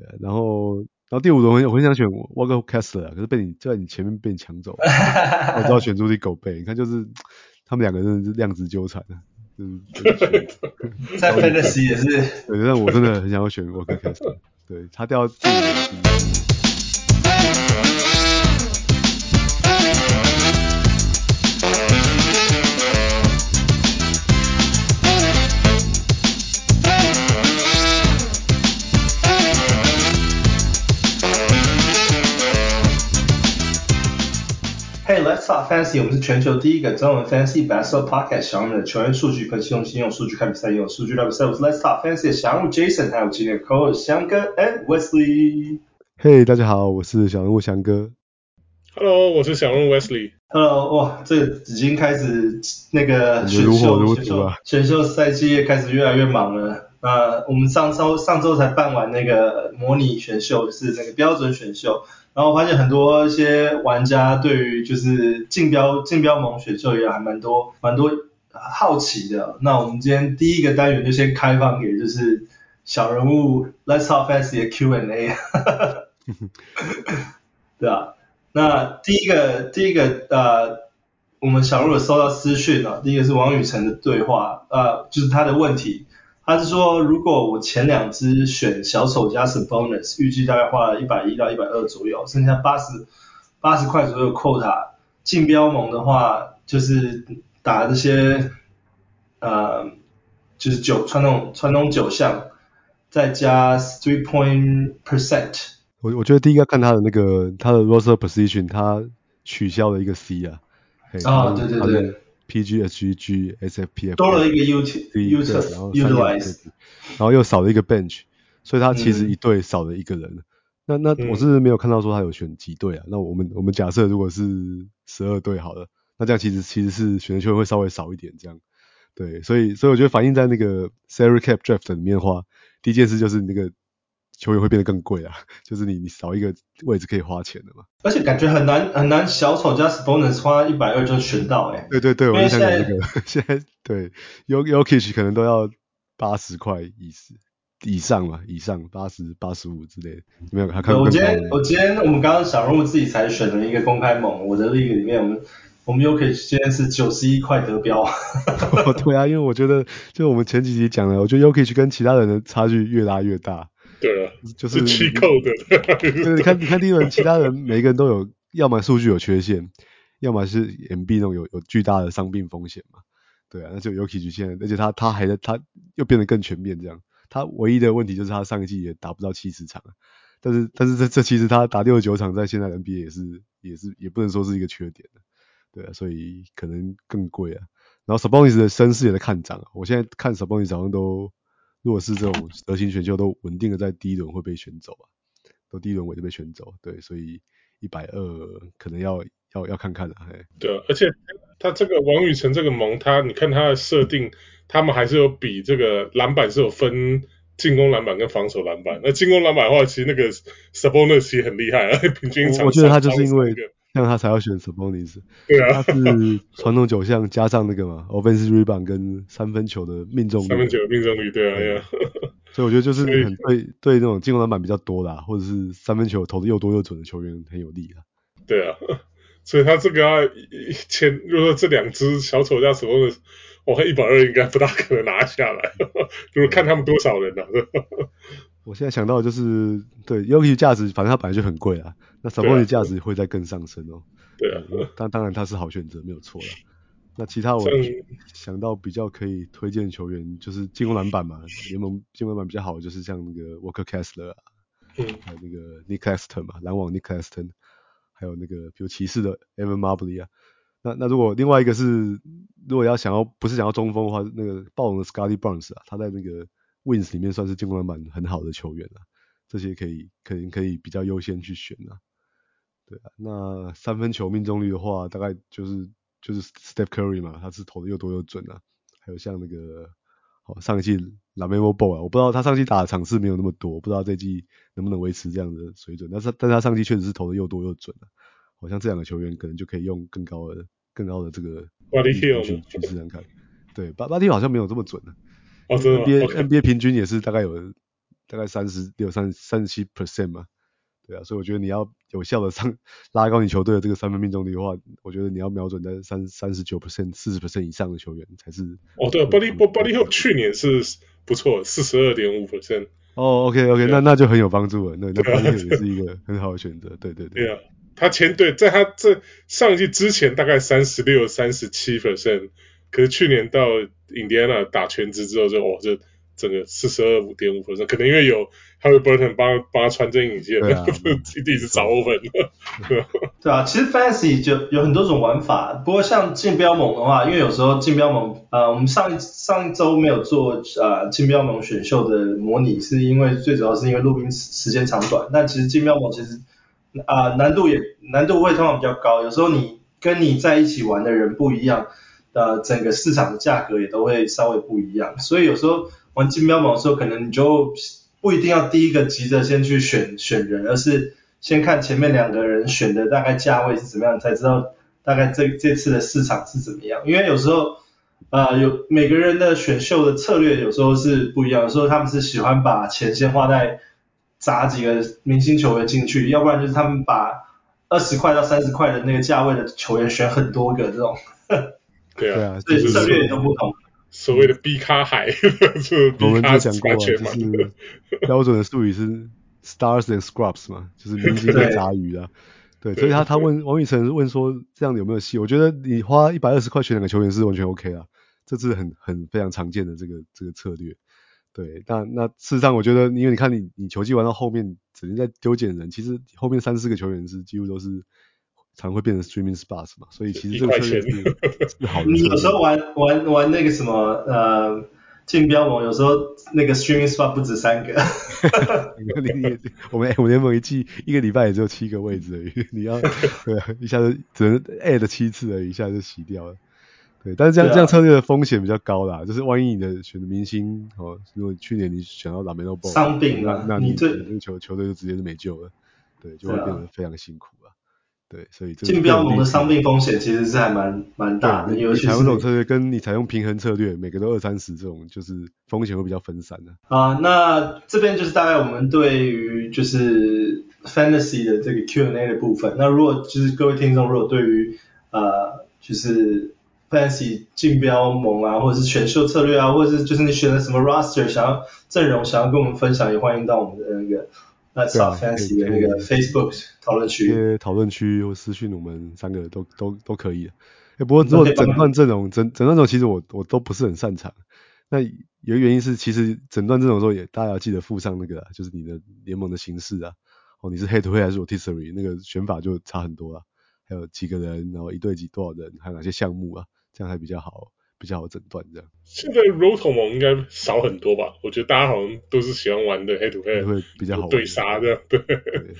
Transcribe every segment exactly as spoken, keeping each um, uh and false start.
然後然後第五輪我很想選 Walker Kessler， 可是被你就在你前面被你搶走了，我只好選出去狗貝。你看就是他們兩個真的是量子糾纏啊，就是在 Fantasy 也是。 对，但我真的很想要選 Walker Kessler， 对他掉到第五輪。 Hey, let's talk fantasy. 我們是全球第一個中文 fantasy basketball podcast，小人物的球員數據分析，用心用數據看比賽，用數據聊比賽。我是 Let's talk fantasy 的小人物 Jason， 還有今天的 co-host 翔哥 and Wesley。 嘿，大家好，我是小人物翔哥。 Hello， 我是小人物 Wesley。 Hello， 哇，這個已經開始那個選秀選秀選秀賽季也開始越來越忙了。那我們上周上周才辦完那個模擬選秀，就是那個標準選秀。然後我發現很多一些玩家對於就是競標競標盟選秀也還蠻多蠻多好奇的。那我們今天第一個單元就先開放給就是小人物 Let's Talk Fantasy 的 Q and A。對啊，那第一個第一個呃，我們小人物有收到私訊啊，第一個是王宇成的對話，呃，就是他的問題。他是說，如果我前兩支選小丑加 Sabonis， 預計大概花了一百一到一百二左右，剩下八十八十塊左右 quota， 競標盟的話就是打這些呃就是九傳統傳統九項，再加 three point percent。 我我覺得第一個看他的那個他的 roster position， 他取消了一個 C 啊。 啊，對對對。 P G H G G S F P F 多了一個 Utah， 然後 utilize， 然後又少了一個 bench， 所以他其實一隊少了一個人。嗯、那那我是沒有看到說他有選幾隊啊。嗯、那我們我們假設如果是十二隊好了，那這樣其實其實是選的球員會稍微少一點這樣。對，所以所以我覺得反映在那個 salary cap draft 裡面的話，第一件事就是那個球員會變得更貴啊，就是你你少一個位置可以花錢的嘛。 而且感覺很難很難，小丑加 Sabonis 花一百二就選到哎、欸。 對对對，我就想講這個，現在對 Jokic 可能都要八十塊以以上嘛，以上八十八十五之類的，沒有？他看我今天我今天我們剛剛小人物自己才選了一個公開盟，我的 league 裡面我們我們 Jokic 今天是九十一塊得標。 對啊，因為我覺得就我們前幾集講了，我覺得 Jokic 跟其他人的差距越拉越大。 對啊， 就是七扣的。 對，你看，你看第一輪，其他人每個人都有，要麼數據有缺陷，要麼是 M B 那種有有巨大的傷病風險嘛。對啊，那就 Jokic 現在，而且他他還在，他又變得更全面這樣。他唯一的問題就是他上一季也打不到七十場，但是但是這這其實他打六十九場，在現在的 N B A 也是也是也不能說是一個缺點的。對啊，所以可能更貴啊。然後 Sabonis 的聲勢也在看漲啊，我現在看 Sabonis 好像都。如果是這種得型選秀都穩定的在第一輪會被選走啊，都第一輪尾就被選走，對，所以一百二可能要要要看看了、啊。 對啊，而且他這個王宇成這個盟，他你看他的設定，他們還是有比這個籃板是有分進攻籃板跟防守籃板。那進攻籃板的話，其實那個 Sabonis 其實很厲害，平均場我覺得他就是因為這樣他才要選 Sabonis。 對啊， 他是傳統九項加上那個嘛 offensive rebound 跟三分球的命中率， 三分球的命中率，對啊，對啊。 所以我覺得就是很對對那種進攻籃板比較多啦，或者是三分球投的又多又準的球員很有利啊。 對啊，所以他這個要簽，如果說這兩支小丑加 Sabonis，我看一百二應該不大可能拿下來，就是看他們多少人啊。 我現在想到的就是對 Jokic 價值，反正他本來就很貴啦，那 Sabonis 價值會再更上升哦。 對啊， 但當然他是好選擇沒有錯啦。那其他我想到比較可以推薦球員，就是進攻籃板嘛，聯盟進攻籃板比較好的就是像那個 Walker Kessler 啊，嗯，還有那個 Nick Claxton 嘛，籃網 Nick Claxton， 還有那個比如騎士的 Evan Mobley 啊。那那如果另外一個是如果要想要不是想要中鋒的話，那個暴龍的 Scottie Barnes 啊，他在那個 Wings 裡面算是進攻籃板很好的球員啊，這些可以可能可以比較優先去選啊。對啊，那三分球命中率的話，大概就是就是 Steph Curry 嘛，他是投的又多又準啊。還有像那個，好上一季 LaMelo Ball 啊，我不知道他上季打的場次沒有那麼多，不知道這季能不能維持這樣的水準。但是但是他上季確實是投的又多又準啊。好像這兩個球員可能就可以用更高的更高的這個 Buddy Hield 去去試試看。對，Buddy Hield 好像沒有這麼準的、啊。 哦，真的嗎？ N B A、 okay. N B A 平均也是大概有大概三十六、三三十七 percent 嘛，對啊，所以我覺得你要有效的上拉高你球队的这個三分命中率的話，我覺得你要瞄準在三三十九 percent、四十 percent 以上的球員才是。 哦，对 ，Buddy Buddy Hield 去年是不錯，四十二點五 percent。 哦 ，OK OK， 那那就很有幫助了，那那 Buddy Hield 也是一個很好的選擇，對對对。 對啊，他前對，在他這上一季之前大概三十六、三十七 percent， 可是去年到印第安納打全職之後就哦就。整個四十二點五 percent， 可能因為有 Haliburton 幫幫他穿針引線， 對啊， 一直找 open。 對啊，其實 Fantasy 就有很多種玩法，不過像競標盟的話，因為有時候競標盟，呃，我們上一上一周沒有做呃競標盟選秀的模擬，是因為最主要是因為錄音時間長短，但其實競標盟其實啊、呃、難度也難度會通常比較高，有時候你跟你在一起玩的人不一樣，呃，整個市場的價格也都會稍微不一樣，所以有時候。玩競標盟的時候，可能你就不一定要第一個急着先去選選人，而是先看前面兩個人選的大概價位是怎麼樣，才知道大概這這次的市場是怎麼樣。因為有時候，呃，有每個人的選秀的策略有時候是不一樣，有時候他們是喜歡把錢先花在砸幾個明星球員進去，要不然就是他們把二十塊到三十塊的那個價位的球員選很多個這種。 對啊， 所以策略也都不同。 所謂的 B 咖海，是 B 我們咖就講過啊，就是標準的術語是 stars and scrubs 嘛，就是明星跟雜魚啊。對，對，所以他他問王宇成問說這樣有沒有戲？我覺得你花一百二十塊選兩個球員是完全 OK 啊，這是很很非常常見的這個這個策略。對，那那事實上我覺得，因為你看你你球季玩到後面，整天在丟撿人，其實後面三四個球員是幾乎都是。常會變成 streaming spots 嘛，所以其實這個策略是是好的。 你有時候玩玩玩那個什麼呃競標盟，有時候那個 streaming spot 不止三個。 你你我們我們聯盟一季一個禮拜也只有七個位置而已，你要對一下子只能 add 七次而已，一下就洗掉了。對，但是這樣、啊、這樣策略的風險比較高啦，就是萬一你的選的明星哦，如果去年你選到 LaMelo Ball 傷病了， 那那你你這個球球隊就直接就沒救了，對，就會變得非常辛苦了。對，所以競標盟的傷病風險其實是還蠻蠻大的，尤其是你採用這種策略跟你採用平衡策略，每個都二三十這種，就是風險會比較分散的。 啊、呃，那這邊就是大概我們對於就是 Fantasy 的這個 Q and A 的部分。那如果就是各位聽眾如果對於呃就是 Fantasy 競標盟啊，或者是選秀策略啊，或者是就是你選的什麼 Roster 想要陣容想要跟我們分享，也歡迎到我們的那個。Let's Talk Fantasy 的那個 Facebook 討論區， 討論區或私訊我們三個都都都可以的。欸、不過如果整段陣容整整段陣容其實我我都不是很擅長。那有一個原因是，其實整段陣容的時候也大家要記得附上那個，就是你的聯盟的形式啊。哦，你是 Head to Head 還是 Rotisserie， 那個選法就差很多了。還有幾個人，然後一對幾多少人，還有哪些項目啊，這樣還比較好。比較好診斷這樣。 現在 Roto 盟應該少很多吧？我覺得大家好像都是喜歡玩的 Head to Head， 會比較好對殺這樣。對。 對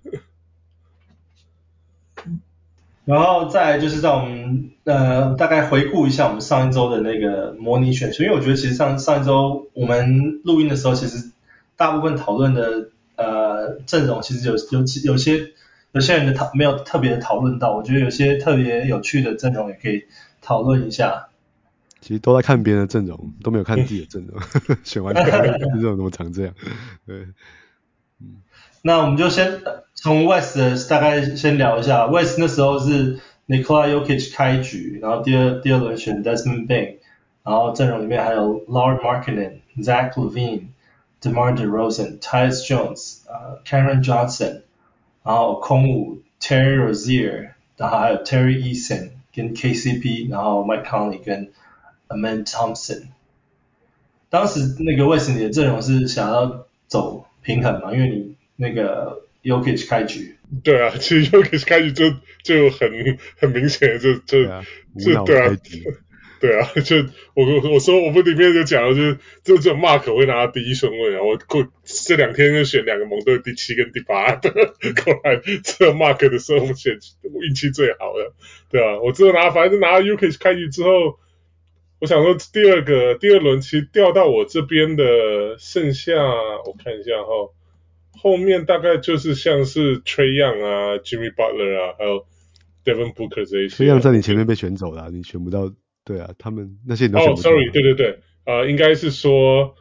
然後再來就是讓我們呃大概回顧一下我們上一周的那個模擬選秀，因為我覺得其實上上一周我們錄音的時候，其實大部分討論的呃陣容其實有有有些有些人的討沒有特別的討論到，我覺得有些特別有趣的陣容也可以討論一下。 其實都在看別人的陣容，都沒有看自己的陣容。選完這種怎麼常這樣？對， 嗯。那我們就先從 West 的大概先聊一下。West 那時候是 Nikola Jokic 開局，然後第二第二輪選 Desmond Bane， 然後陣容裡面還有 Lauri Markkanen、Zach LaVine、DeMar DeRozan、Tyus Jones、呃 Cameron Johnson， 然後空五 Terry Rozier， 然後還有 Terry Eason 跟 K C P， 然後 Mike Conley 跟Amen Thompson。當時那個 West 你的陣容是想要走平衡嘛？因為你那個 Jokic 開局。 對啊，其實 Jokic 開局就就很很明顯的就就對啊， 就對啊，對啊，就我我說我們裡面就講了，就是就只有 Mark 會拿到第一順位啊，我過這兩天就選兩個盟隊第七跟第八的，後來只有 Mark 的時候我們選運氣最好的，對啊，我只有拿反正就拿到 Jokic 開局之後。我想說第二個第二輪其實掉到我這邊的剩下我看一下齁，後面大概就是像是 Trae Young 啊 Jimmy Butler 啊還有 Devin Booker 這一些。 Trae Young 在你前面被選走了、啊，你選不到。對啊，他們那些你都選不到。 哦、oh, ，sorry， 對對對，呃，應該是說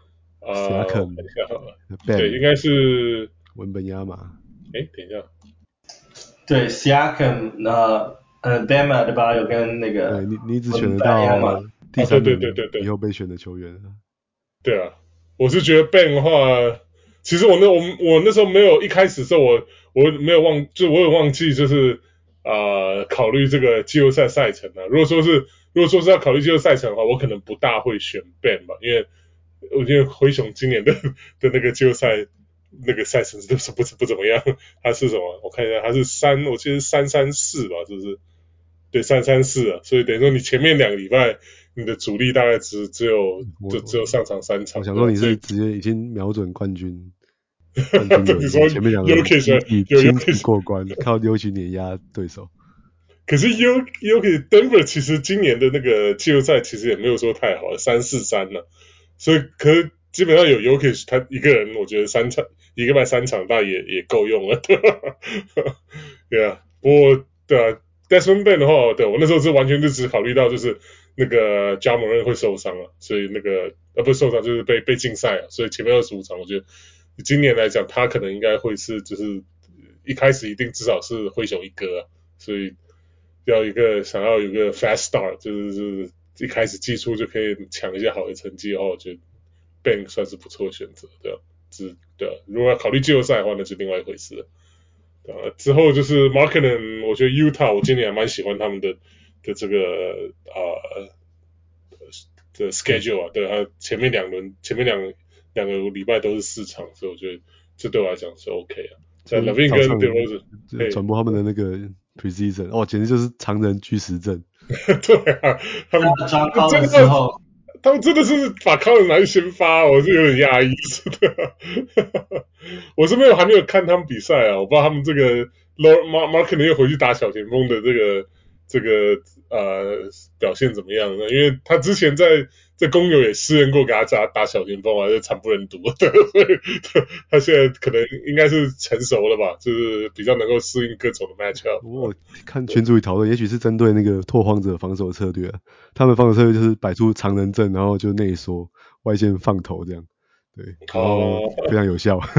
呃，等一下好了，對，應該是文本亞馬。 哎，等一下， 對 ，Siakam 呃呃 Bama 對吧？有跟那個对你你只選得到第三輪以後被選的球員。 對啊，我是覺得 Ben 的話，其實我那我我那時候沒有一開始的時候我我沒有忘，就我有忘記就是呃考慮這個季後賽賽程啊。如果說是如果說是要考慮季後賽賽程的話，我可能不大會選 Ben 吧，因為我覺得灰熊今年的的那個季後賽那個賽程都是不不怎麼樣。他是什麼？我看一下，他是三，我記得是三三四吧，是不是？對，三三四啊，所以等於說你前面兩個禮拜你的主力大概只只有就只有上場三場。 我想說你是直接已經瞄準冠軍，冠軍輪前面兩個輕輕過關，靠優奇碾壓對手。 可是 U U K Denver 其實今年的那個季後賽其實也沒有說太好，三四三了，所以可是基本上有 U K 他一個人，我覺得三場一個禮拜三場大也也夠用了，對吧？對啊，不過對啊。Desmond Bane 的話，對我那時候是完全就只考慮到就是那個 Ja Morant 會受傷了，所以那個呃不是受傷就是被被禁賽了，所以前面二十五場我覺得今年來講他可能應該會是就是一開始一定至少是灰熊一哥啊，所以要一個想要有一個 fast start 就是是一開始季初就可以搶一些好的成績的話，我覺得 Bane 算是不錯的選擇，對吧？是，對啊，如果要考慮季後賽的話，那是另外一回事了。呃，之後就是 Markkanen， 我覺得 Utah 我今年還蠻喜歡他們的的這個呃的 schedule 啊，對，他前面兩輪前面兩兩個禮拜都是四場，所以我覺得這對我來講是 OK 啊。在 LaVine 跟 DeRozan 轉播他們的那個 preseason，哦，簡直就是常人巨實症。 對啊，他們抓高的時候。 他們真的是把康人拿去先發，我是有點訝異的。我是沒有還沒有看他們比賽啊，我不知道他們這個 Markkanen 又回去打小前鋒的這個這個呃表現怎麼樣呢？因為他之前在在公牛也試驗過給他打打小前鋒啊，就慘不忍睹。所以他現在可能應該是成熟了吧，就是比較能夠適應各種的 matchup。 我看群組裡討論，也許是針對那個拓荒者防守策略，他們防守策略就是擺出長人陣，然後就內縮外線放投這樣，對，然後非常有效。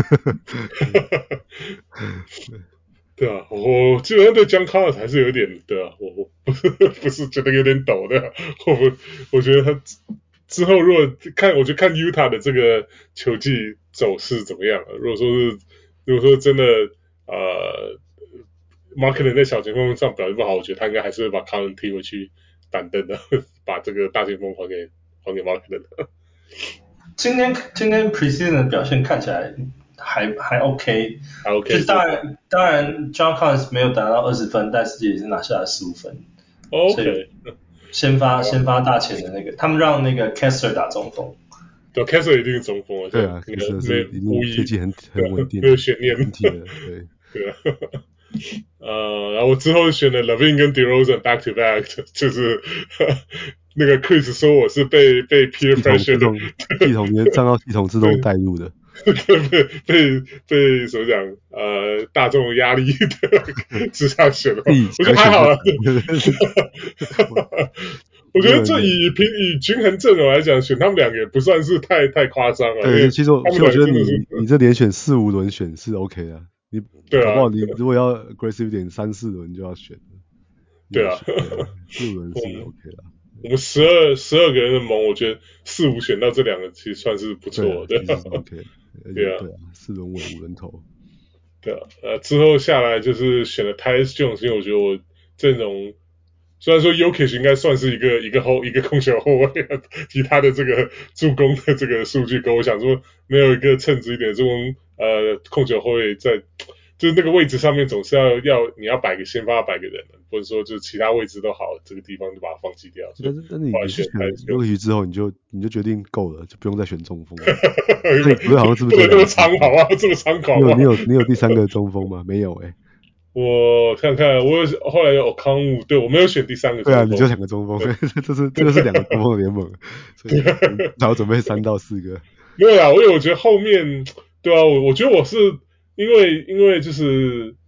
對啊，我基本上對 John Collins 還是有點，對啊，我我不是不是覺得有點抖的，我我覺得他之後如果看，我就看 Utah 的這個球季走勢怎麼樣了。如果說是，如果說真的呃 Markkanen 在小前鋒上表現不好，我覺得他應該還是會把 Collins 踢回去板凳的，把這個大前鋒還給還給 Markkanen。 今天今天 preseason 的表現看起來還還 OK， 還 OK， 就當然當然 John Collins 沒有達到二十分，但是也是拿下了十五分。 OK， 先發先發大前的那個，他們讓那個 Kessler 打中鋒。 對 ，Kessler 一定是中鋒啊。 對啊 ，Kessler 是一定最近很很穩定， 沒有懸念的。對對啊。呃，然後我之後選了 LaVine 跟 DeRozan back to back， 就是那個 Chris 說我是被被 peer pressure 系統連賬號系統自動帶入的。 被被被怎麼講？呃，大眾壓力的之下選的話，我覺得還好了。我覺得這以平以均衡陣容來講，選他們兩個也不算是太太誇張了。 對，其實我其實我覺得你你這連選四五輪選是 OK 的，你對啊， 搞不好你如果要 aggressive 一點，三四輪就要選。 對啊， 四五輪是 OK 的。 我們十二十二個人的盟，我覺得四五選到這兩個其實算是不錯的。 對啊，其實是 OK。 對啊， 對啊，四輪穩五輪投。 對啊，呃，之後下來就是選了 Tyus Jones， 因為我覺得我陣容雖然說 Jokic 應該算是一個一個後一個控球後衛，以他的這個助攻的這個數據，跟我想說沒有一個稱職一點的助攻呃控球後衛在。就是那個位置上面總是要要你要擺個先發擺個人，或者說就是其他位置都好，這個地方就把它放棄掉。 但是但是你選優奇之後，你就你就決定夠了，就不用再選中鋒了。那你不是好像是不是這麼參考啊？這麼參考嗎？你有你有你有第三個中鋒嗎？沒有哎、欸。 我看看，我有後來有康武，對我沒有選第三個中鋒。 對啊，你就兩個中鋒，所以這是這個是兩個中鋒的聯盟，所以然後準備三到四個。 沒有啊，因為我覺得後面對啊，我我覺得我是。因為因為就是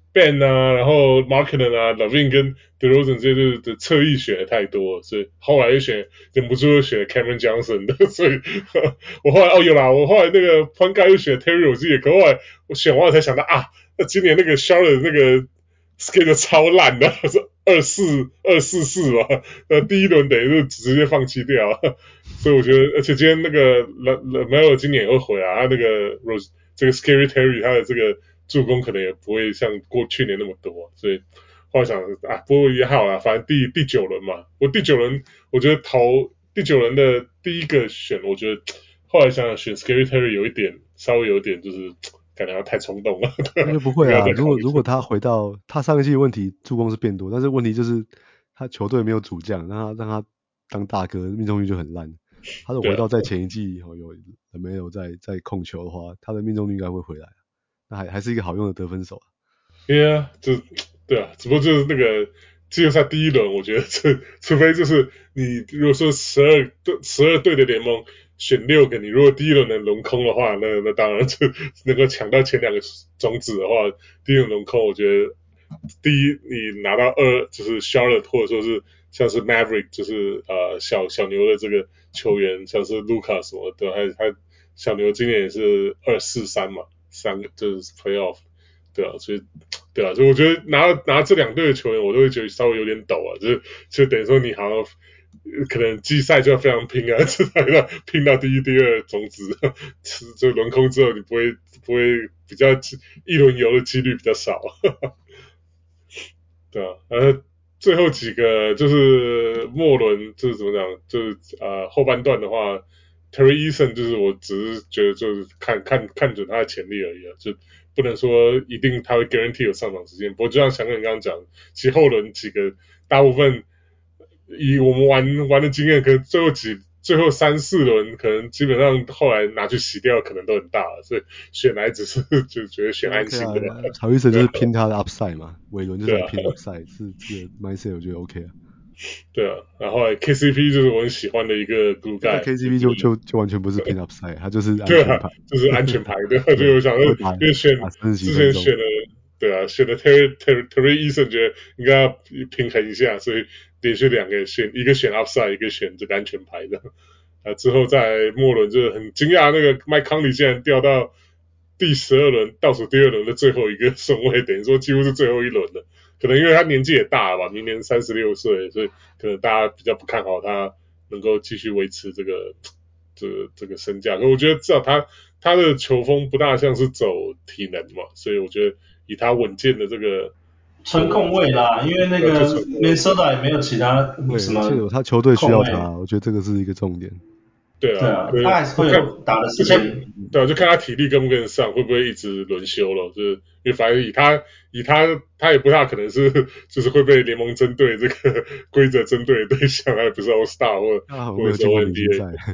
Ben 啊，然後 Markkanen 啊 ，Lavine 跟 DeRozan 這些的側翼選的太多，所以後來又選忍不住又選 Cameron Johnson 的，所以我後來哦有啦，我後來那個 Point Guard 又選 Terry Rozier，可後來我選完了才想到啊，那今年那個 Charlotte 那個 schedule 超爛的，是二四二四四嘛，那第一輪等於是直接放棄掉，所以我覺得，而且今天那個 LaMelo 今年也會回來，他那個 Rose 這個 Scary Terry 他的這個助攻可能也不會像過去年那麼多，所以後來想啊，不過也好啦，反正第第九輪嘛，我第九輪我覺得投第九輪的第一個選，我覺得後來想想選 Scary Terry 有一點稍微有一點就是感覺他太衝動了。 那就不會啊，如果如果他回到他上一季的問題，助攻是變多，但是問題就是他球隊沒有主將，讓他讓他當大哥，命中率就很爛。他如果回到在前一季哦有沒有在在控球的話，他的命中率應該會回來。那還還是一個好用的得分手啊。 對啊，就對啊，只不過就是那個季後賽第一輪，我覺得這除非就是你如果說十二隊十二隊的聯盟選六個，你如果第一輪能輪空的話，那那當然就能夠搶到前兩個種子的話，第一輪輪空，我覺得第一你拿到二就是 Charlotte 或者說是像是 Maverick 就是呃小小牛的這個球員，像是 Luka 什麼的，還還小牛今年也是二四三嘛。三個就是 playoff， 對啊，所以對啊，所以我覺得拿拿這兩隊的球員，我都會覺得稍微有點抖啊，就是就等於說你好像可能季賽就要非常拼啊，至少要拼到第一、第二種子，就輪空之後你不會不會比較一輪遊的幾率比較少，對啊，然後最後幾個就是末輪就是怎麼講，就是呃後半段的話。Terry Eason 就是我只是覺得就是看看看準他的潛力而已啊，就不能說一定他會 guarantee 有上場時間。不過就像翔哥你剛剛講，其實後輪幾個大部分以我們玩玩的經驗，可能最後幾最後三四輪可能基本上後來拿去洗掉可能都很大了，所以選來只是就覺得選安心的吧。 Terry Eason 就是拼他的 upside 嘛，尾輪就是來拼 upside，、啊、是這個 mindset 我覺得 OK 啊。 對啊，然後 K C P 就是我很喜歡的一個 glue guy。 K C P 就就就完全不是 pin up side， 他就是安全牌， 啊、就是安全牌的。所以我想，因為選之前選了，對啊，選了 Terry Terry Terry Eason， 覺得應該要平衡一下，所以連續兩個選，一個選 upside， 一個選這個安全牌的。啊，之後在末輪就是很驚訝，那個 Mike Conley 竟然掉到第十二輪倒數第二輪的最後一個順位，等於說幾乎是最後一輪了。可能因為他年紀也大了吧，明年三十六歲，所以可能大家比較不看好他能夠繼續維持這個這個、這個身價。可我覺得至少他他的球風不大像是走體能嘛，所以我覺得以他穩健的這個純控位啦，因為那個 Minnesota 也沒有其他什麼， 對，他球隊需要他，我覺得這個是一個重點。 對啊， 對啊，他還是會有打的時間。 對啊，就看他體力跟不跟得上，會不會一直輪休了。就是因為反正以他以他他也不大可能是就是會被聯盟針對這個規則針對的對象，他也不是 All Star 或、啊、或者是 N B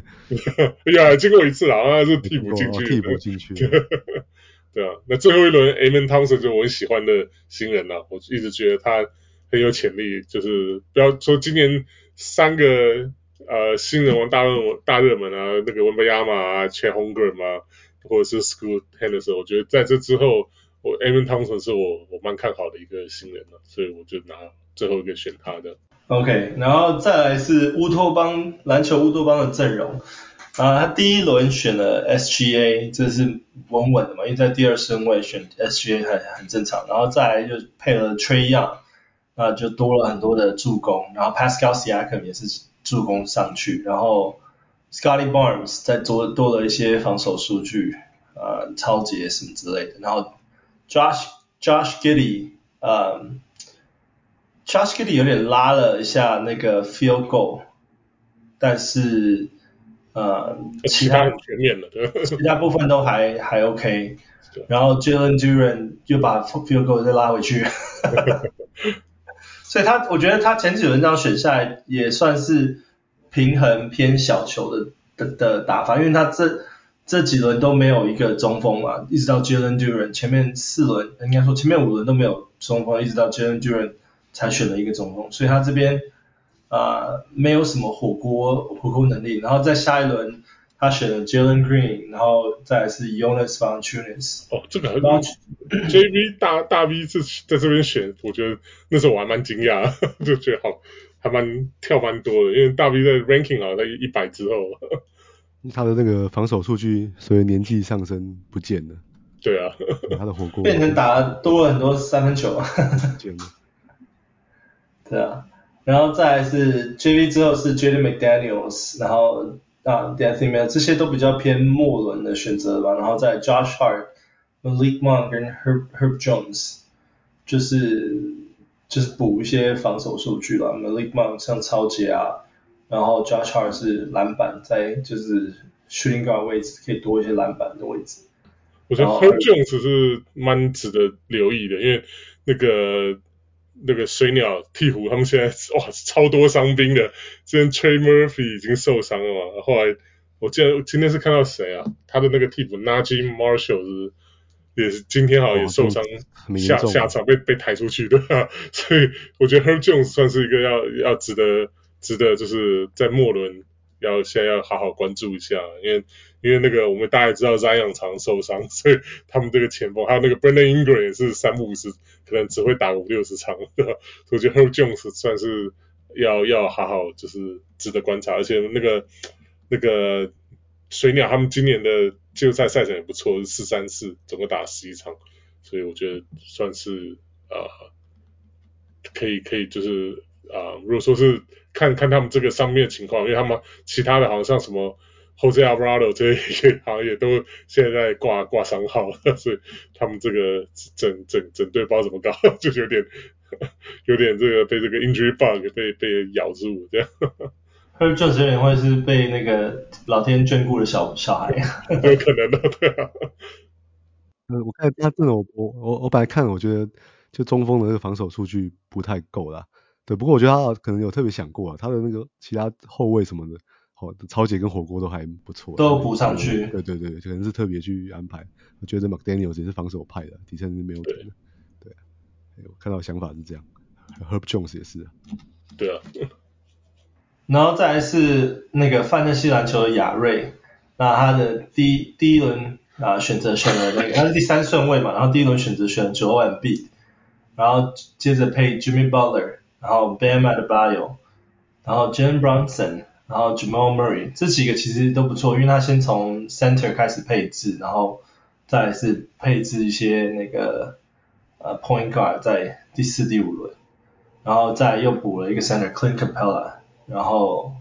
A。呀，經過一次啦，他是替補進去的。 替補進去。 對啊，那最後一輪 Amen Thompson 就我很喜歡的新人啦，我一直覺得他很有潛力，就是不要說今年三個。呃，新人王大熱大熱門啊，那個文貝亞馬啊 Chet Holmgren 啊，或者是 Scoot Henderson，我覺得在這之後，我 Amen Thompson 是我我蠻看好的一個新人了，所以我就拿最後一個選他的。 OK， 然後再來是烏托邦籃球烏托邦的陣容啊，他第一輪選了 S G A， 這是穩穩的嘛，因為在第二順位選 S G A 很很正常，然後再來就配了 Trae Young， 那就多了很多的助攻，然後 Pascal Siakam 也是。助攻上去，然後 Scottie Barnes 再多多了一些防守數據，呃，抄截什麼之類的。然後 Josh Josh Giddey， 呃 ，Josh Giddey 有點拉了一下那個 field goal， 但是呃，其他很全面的，對， 其他部分都還還 OK。然後 Jalen Duren 又把 field goal 再拉回去。所以他，我覺得他前幾輪這樣選下來也算是平衡偏小球的的的打法，因為他這這幾輪都沒有一個中鋒嘛，一直到 Jalen Duren 前面四輪應該說前面五輪都沒有中鋒，一直到 Jalen Duren 才選了一個中鋒，所以他這邊啊、呃、沒有什麼火鍋火鍋能力，然後在下一輪他選了 Jalen Green， 然後再來是 Jonas Valanciunas。 哦，這個很 J V 大大 V 是在這邊選，我覺得那時候我還蠻驚訝，就覺得好還蠻跳蠻多的，因為大 V 在 ranking 好像在一百之後， 他的那個防守數據隨着年紀上升不見了。 對啊， 他的火鍋變成打多了很多三分球。 不見了。 對啊，然後再來是 J V 之後是 Jaden McDaniels， 然後啊 D'Anthony Melton 這些都比較偏末輪的選擇吧，然後再來 Josh Hart、Malik Monk 跟 Herb Herb Jones， 就是就是補一些防守數據啦。Malik Monk 像抄截啊，然後 Josh Hart 是籃板，在就是 shooting guard 位置可以多一些籃板的位置。 我覺得 Herb Jones 是蠻值得留意的，因為那個。那個水鳥鵜鶘他們現在哇超多傷兵的，之前 Trey Murphy 已經受傷了嘛，後來我記得今天是看到誰啊，他的那個替補 Najee Marshall 是也是今天好像也受傷、哦、下下場被被抬出去的，所以我覺得 Herb Jones 算是一個要要值得值得就是在末輪要現在要好好關注一下，因為因為那個我們大家也知道 Zion 常受傷，所以他們這個前鋒還有那個 Brandon Ingram 也是三不五時可能只會打五六十場，對吧？所以我覺得 Herb Jones 算是要要好好就是值得觀察，而且那個那個水鳥他們今年的季後賽賽程也不錯，是四三四，總共打十一場，所以我覺得算是呃可以可以就是啊、呃，如果說是看看他們這個上面的情況，因為他們其他的好像像什麼 Jose Alvarado 這些好像也都現在掛掛傷號了，所以他們這個整整整隊不知道怎麼搞，就有點有點這個被這個 injury bug 被被咬住這樣。 Herb Jones 有點會是被那個老天眷顧的小小孩， 有可能的，對啊。 嗯，我看他這種，我我我本來看，我覺得就中鋒的那個防守數據不太夠啦。對，不過我覺得他可能有特別想過啊，他的那個其他後衛什麼的，好、哦，抄截跟火鍋都還不錯， 都補上去。 對對對，可能是特別去安排。我覺得 McDaniels 也是防守派的，底層是沒有的。對，對，我看到的想法是這樣。Herb Jones 也是。 對啊。 然後再來是那個范特西籃球的亞瑞，那他的第一第一輪啊選擇選了那個，他是第三順位嘛，然後第一輪選擇選了 Joel Embiid，然後接着配 Jimmy Butler。然後 Bam Adebayo， 然後 Jalen Brunson， 然後 Jamal Murray， 這幾個其實都不錯，因為他先從 center 開始配置，然後再來是配置一些那個呃 point guard 在第四、第五輪，然後再來又補了一個 center Clint Capella， 然後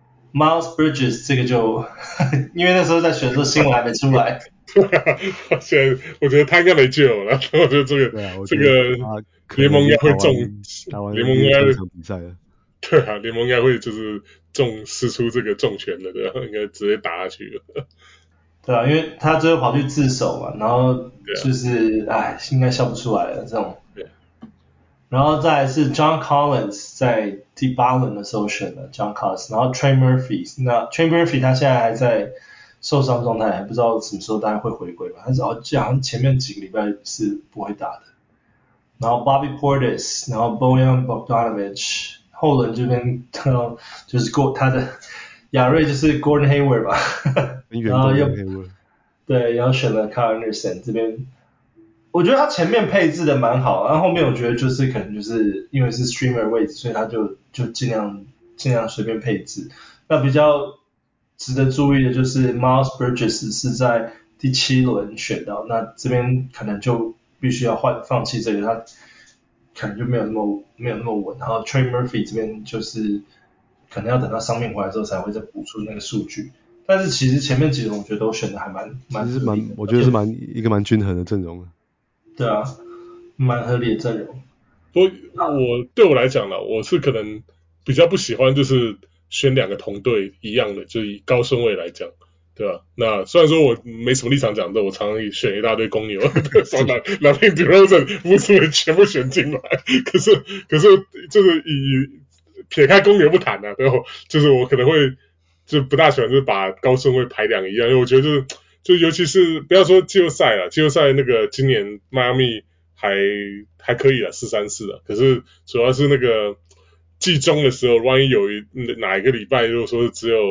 Miles Bridges 這個就因為那時候在選的時候新聞還沒出來， 現在我覺得他應該沒救了，我覺得這個對啊， 這個。聯盟應該會中，聯盟應該比賽了。 對啊，聯盟應該會就是中釋出這個重拳了，對吧？應該直接打下去了。 對啊，因為他最後跑去自首嘛，然後就是哎、啊，應該笑不出來了這種。 對。 然後再來是 John Collins 在第八輪的時候選的 John Collins， 然後 Trey Murphy， 那 Trey Murphy 他現在還在受傷狀態，還不知道什麼時候大概會回歸吧。但是好像前面幾個禮拜是不會打的。然後 Bobby Portis， 然後 Bojan Bogdanovic， 後輪這邊就是過他的亞瑞就是 Gordon Hayward 吧，然後又對，然後選了 Kyle Anderson 這邊，我覺得他前面配置的蠻好，然後後面我覺得就是可能就是因為是 streamer 位置，所以他就就盡量盡量隨便配置。那比較值得注意的就是 Miles Bridges 是在第七輪選到，那這邊可能就必須要換放棄這個，他可能就沒有那麼沒有那麼穩。然後 Trey Murphy 這邊就是可能要等到傷病回來之後才會再補出那個數據。但是其實前面幾輪我覺得都選的還蠻蠻合理的， 我覺得是蠻一個蠻均衡的陣容。 對啊，蠻合理的陣容。 不過我對我來講呢，我是可能比較不喜歡就是選兩個同隊一樣的，就以高順位來講。對吧？那雖然說我沒什麼立場講的，我常常選一大堆公牛，說拿拿 DeRozan 無數人全部選進來，可是可是就是以撇開公牛不談啊，對吧？就是我可能會就不大喜歡就是把高順位排兩個一樣，因為我覺得就是就尤其是不要說季後賽啊，季後賽那個今年邁阿密還還可以啊，四三四啊，可是主要是那個季中的時候，萬一有一哪一個禮拜如果說只有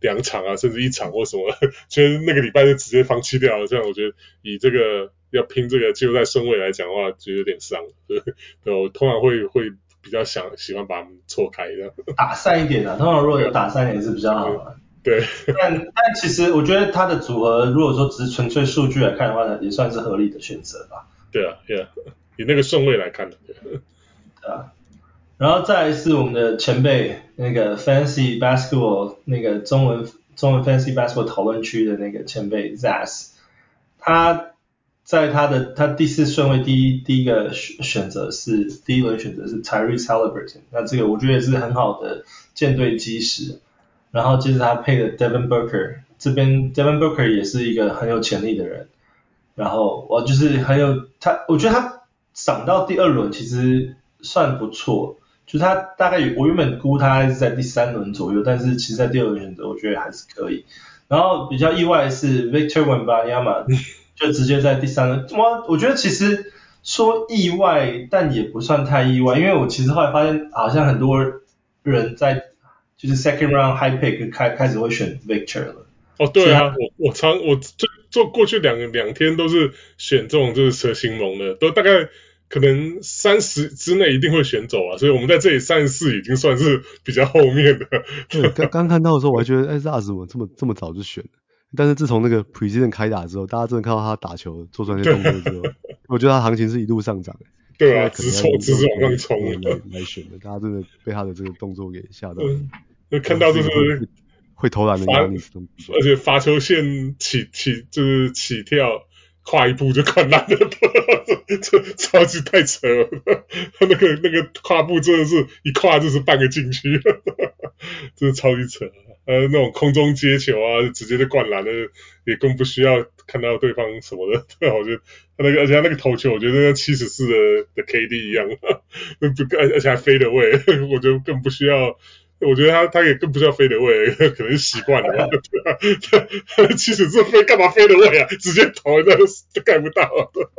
兩場啊，甚至一場或什麼，覺得那個禮拜就直接放棄掉了。這樣我覺得以這個要拼這個季後賽順位來講的話，就有點傷。對，對我通常會會比較想喜歡把他們錯開這樣。打散一點啊，通常如果有打散一點是比較好的。 對， 但但其實我覺得他的組合，如果說只是純粹數據來看的話，也算是合理的選擇吧。 對啊，對啊，以那個順位來看的。對， 對啊。然後再來是我們的前輩那個 Fantasy Basketball 那個中文中文 Fantasy Basketball 討論區的那個前輩 Zaz， 他在他的他第四順位第一第一個選選擇是第一輪選擇是 Tyrese Haliburton， 那這個我覺得也是很好的艦隊基石。然後接着他配的 Devin Booker， 這邊 Devin Booker 也是一個很有潛力的人，然後我就是很有他，我覺得他漲到第二輪其實算不錯，就是他大概我原本估他是在第三輪左右，但是其實在第二輪選擇我覺得還是可以。然後比較意外的是 Victor Wembanyama 就直接在第三輪，我我覺得其實說意外，但也不算太意外，因為我其實後來發現好像很多人在就是 second round high pick 開開始會選 Victor 了。 哦，對啊，我我常我做做過去兩兩天都是選這種就是蛇形龍的，都大概可能三十之內一定會選走啊，所以我們在這裡三十四已經算是比較後面的。 對，剛剛看到的時候我還覺得，哎 ，Zaz 怎麼這麼這麼早就選了？但是自從那個 preseason 開打之後，大家真的看到他打球做出那些動作之後，我覺得他行情是一路上漲的。 對啊，直衝直直往上衝來來選的，大家真的被他的這個動作給嚇到了。 嗯，看到就是會，會投籃的壓力， 而且罰球線起起就是起跳，跨一步就灌籃了，這超級太扯了。他那個那個跨步真的是一跨就是半個禁區，真的超級扯。呃，那種空中接球啊，直接就灌籃了，也更不需要看到對方什麼的。對，我覺得他那個，而且他那個投球，我覺得跟七十四的的 K D 一樣，不，而且還飛得位，我覺得更不需要。我覺得他他也更不需要飛得位，可能習慣了吧。七十四飛幹嘛飛得位啊？直接投那就蓋不到。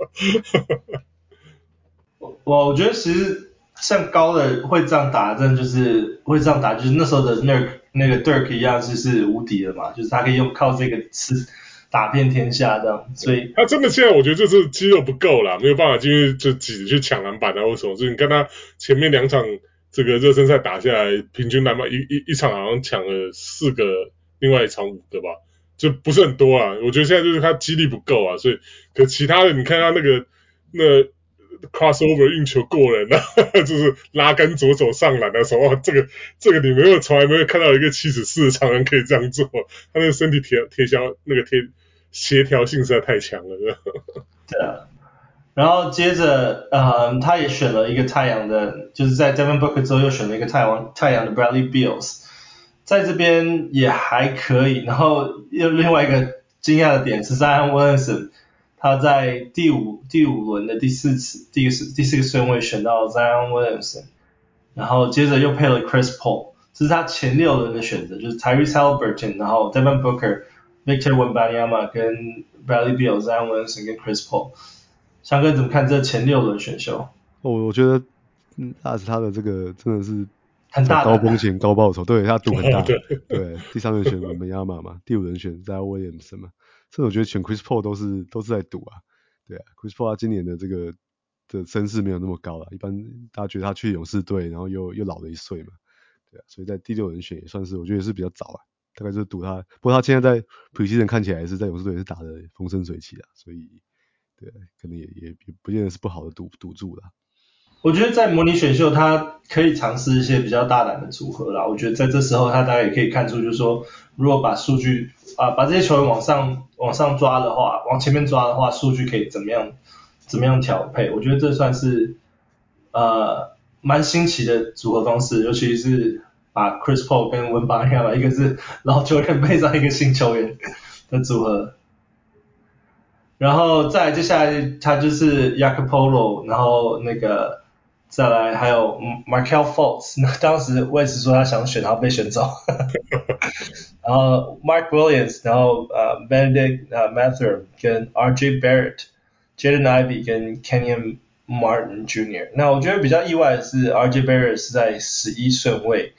我我覺得其實像高的會這樣打，真的就是會這樣打，就是那時候的 Dirk 那個 Dirk 一樣，就是無敵了嘛，就是他可以用靠這個吃打遍天下這樣，所以他真的現在我覺得就是肌肉不夠啦，沒有辦法進去就擠去搶籃板啊或什麼，所以你看他前面兩場這個熱身賽打下來，平均籃板一一一場好像搶了四個，另外一場五個吧，就不是很多啊。我覺得現在就是他肌力不夠啊，所以可其他的你看他那個那。crossover 運球過人啊，就是拉桿左手上籃的時候，這個這個你沒有從來沒有看到一個七十四的常人可以這樣做，他那個身體貼貼銷那個貼協調性實在太強了， 對啊。然後接着，呃，他也選了一個太陽的，就是在 Devin Booker 之後又選了一個太陽太陽的 Bradley Beals， 在這邊也還可以。然後又另外一個驚訝的點是 Zion Williamson。他在第五第五輪的第四次第四第四個順位選到 Zion Williamson， 然後接着又配了 Chris Paul， 這是他前六輪的選擇，就是 Tyrese Haliburton， 然後 Devin Booker、Victor Wembanyama 跟 Bradley Beal、Zion Williamson 跟 Chris Paul。翔哥怎麼看這前六輪選秀？ 哦，我覺得嗯，那是他的這個真的是很大高風險高報酬，對他賭很大， 對， 對，第三輪選 Wembanyama 嘛，第五輪選 Zion Williamson 嘛。這我覺得選 Chris Paul 都是都是在賭啊，對啊 ，Chris Paul 他今年的這個的聲勢沒有那麼高了，一般大家覺得他去勇士隊，然後又又老了一歲嘛，對啊，所以在第六輪選也算是我覺得也是比較早啊，大概就是賭他，不過他現在在 preseason 看起來也是在勇士隊也是打得風生水起啊，所以對，可能也也也不見得是不好的賭賭注啦。 我覺得在模擬選秀，他可以嘗試一些比較大膽的組合啦。我覺得在這時候，他大概也可以看出，就是說，如果把數據啊，把這些球員往上往上抓的話，往前面抓的話，數據可以怎麼樣怎麼樣調配？我覺得這算是呃蠻新奇的組合方式，尤其是把 Chris Paul 跟文巴亞嘛，一個是老球員配上一個新球員的組合。然後再來接下來他就是 Jakob Poeltl， 然後那個再來還有 Markelle Fultz， 那當時我也是說他想選，然後被選走。然後 Mark Williams， 然後呃 Benedict 呃 Mathurin 跟 R J Barrett、Jaden Ivey 跟 Kenyon Martin Junior 那我覺得比較意外的是 R J Barrett 是在十一順位，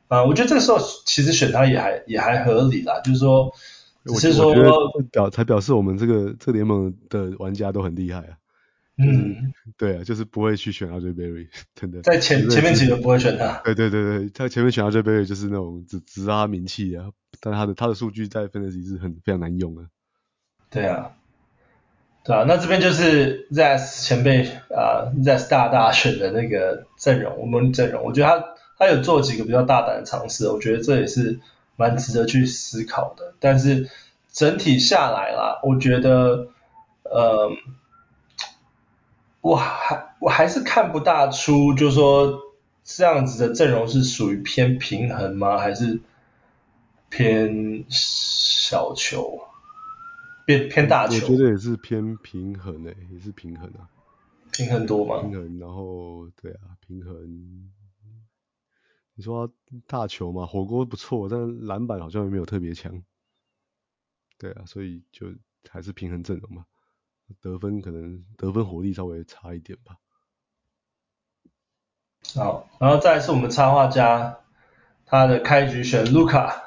啊、呃，我覺得這個時候其實選他也還也還合理啦，就是說，只是說， 我覺得表才表示我們這個這個聯盟的玩家都很厲害啊。就是、嗯，對啊，就是不會去選 R J Barrett， 真的。 在前前面幾輪不會選他。 對對對對，他前面選 R J Barrett 就是那種只只知道他名氣啊，但他的他的數據在 Fantasy 是很非常難用的。 對啊，對啊，那這邊就是 Zas 前輩啊、呃、，Zas 大大選的那個陣容，我們陣容，我覺得他他有做幾個比較大膽的嘗試，我覺得這也是蠻值得去思考的。但是整體下來啦，我覺得，呃。我還我還是看不大出，就是說這樣子的陣容是屬於偏平衡嗎？還是偏小球？偏偏大球？ 我覺得也是偏平衡誒、欸，也是平衡啊。 平衡多嗎？ 平衡，然後對啊，平衡。你說大球嘛，火鍋不錯，但籃板好像也沒有特別強。對啊，所以就還是平衡陣容嘛。得分可能得分火力稍微差一點吧。 好，然後再來是我們插畫家，他的開局選盧卡，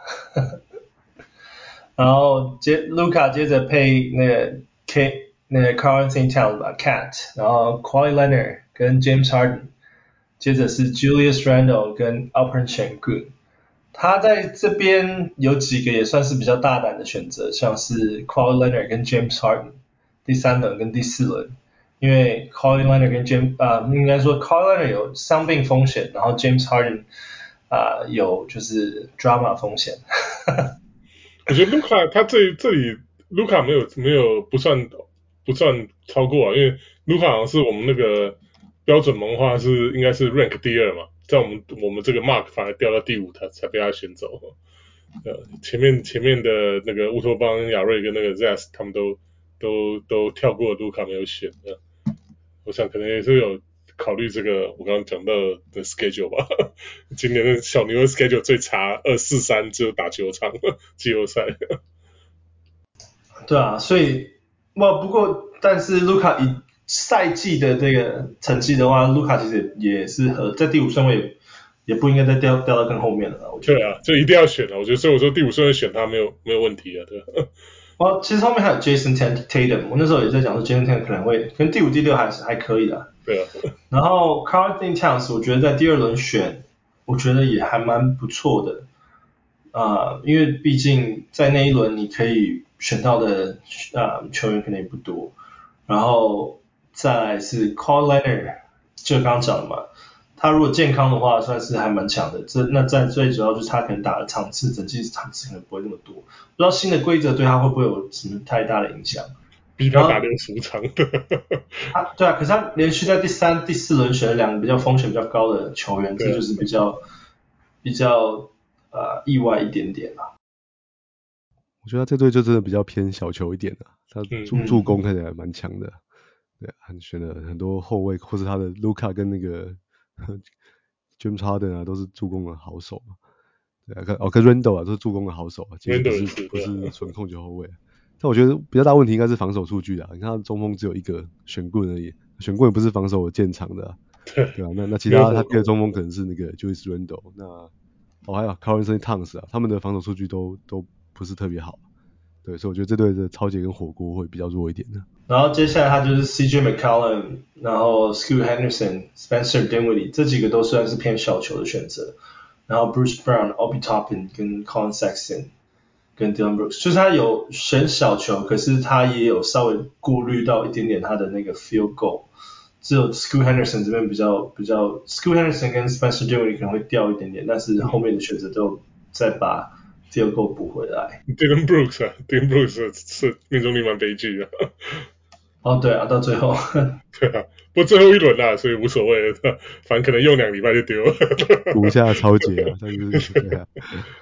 然後接盧卡接着配那個 K 那個 Karl-Anthony Towns 吧 Cat， 然後 Kawhi Leonard 跟 James Harden， 接着是 Julius Randle 跟 Alperen Sengun。他在這邊有幾個也算是比較大膽的選擇，像是 Kawhi Leonard 跟 James Harden， 第三輪跟第四輪。因為 Kawhi Leonard 跟 James 啊、呃，應該說 Kawhi Leonard 有傷病風險，然後 James Harden 啊、呃、有就是 drama 風險。 我覺得盧卡他這這裡盧卡沒有沒有不算不算超過啊，因為盧卡好像是我們那個標準萌化是應該是 rank 第二嘛，在我們我們這個 mark 反而掉到第五，他才被他選走。呃，前面前面的那個烏托邦、亞瑞跟那個 Zas 他們都都都跳過盧卡沒有選的。我想可能也是有考慮這個我剛剛講到的 schedule 吧。今年的小牛的 schedule 最差，二四三只有打九場季後賽。 對啊，所以哇，不過但是盧卡以賽季的這個成績的話，盧卡其實也是和在第五順位也不應該再掉掉到更後面了。我覺得。 對啊，就一定要選了。我覺得所以我說第五順位選他沒有沒有問題啊，對吧？ 哦，其實後面還有 Jason Tatum， 我那時候也在講說 Jason Tatum 可能會跟第五、第六還是還可以的。 對啊。 然後 Karl-Anthony Towns 我覺得在第二輪選，我覺得也還蠻不錯的。呃，因為畢竟在那一輪你可以選到的呃球員可能也不多。然後再來是 Kawhi Leonard， 就剛剛講的嘛。他如果健康的話，算是還蠻強的。這那在最主要就是他可能打的場次，整季場次可能不會那麼多。不知道新的規則對他會不會有什麼太大的影響？ 逼他打六十場的。 他對啊，可是他連續在第三、第四輪選了兩個比較風險比較高的球員，這就是比較比較呃意外一點點啦。 我覺得他這隊就真的比較偏小球一點的，他助、嗯、助攻看起來蠻強的。對，很選了很多後衛，或是他的盧卡跟那個。James Harden 啊，都是助攻的好手嘛。對啊，哦，跟 Randle 啊，都是助攻的好手啊，其實不是是不是純控球後衛。但我覺得比較大問題應該是防守數據啊。你看他中鋒只有一個選棍而已，選棍也不是防守建長的、啊，對啊，那那其他他第二中鋒可能是那個 Julius Randle， 那哦還有 Karl-Anthony Towns 啊，他們的防守數據都都不是特別好。對，所以我覺得這隊的超級跟火鍋會比較弱一點的。 然後接下來他就是 C J McCollum， 然後 Scoot Henderson、Spencer Dinwiddie 這幾個都算是偏小球的選擇。然後 Bruce Brown、Obi Toppin 跟 Colin Sexton 跟 Dillon Brooks， 就是他有選小球，可是他也有稍微顧慮到一點點他的那個 field goal。只有 Scoot Henderson 這邊比較比較 Scoot Henderson 跟 Spencer Dinwiddie 可能會掉一點點，但是後面的選擇都再把 field goal 補回來。 Dillon Brooks 啊 ，Dillon Brooks 是命中率蠻悲劇的。 哦，對啊，到最後。 對啊，不過最後一輪啦，所以無所謂了，反正可能用兩個禮拜就丟了。 補一下超級啊，但是對啊。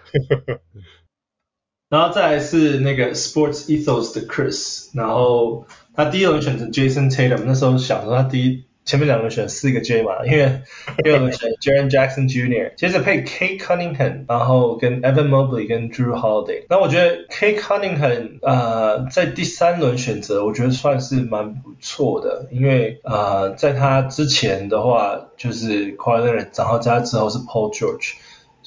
然後再來是那個 Sports Ethos 的 Chris， 然後他第一輪選擇 Jason Tatum， 那時候想說他第一前面兩輪選四個 J 嘛，因為第二輪選 Jaren Jackson Junior， 接着配 Kate Cunningham， 然後跟 Evan Mobley 跟 Drew Holiday。那我覺得 Kate Cunningham 呃在第三輪選擇，我覺得算是蠻不錯的，因為呃在他之前的話就是 Kawhi Leonard， 然後加之後是 Paul George。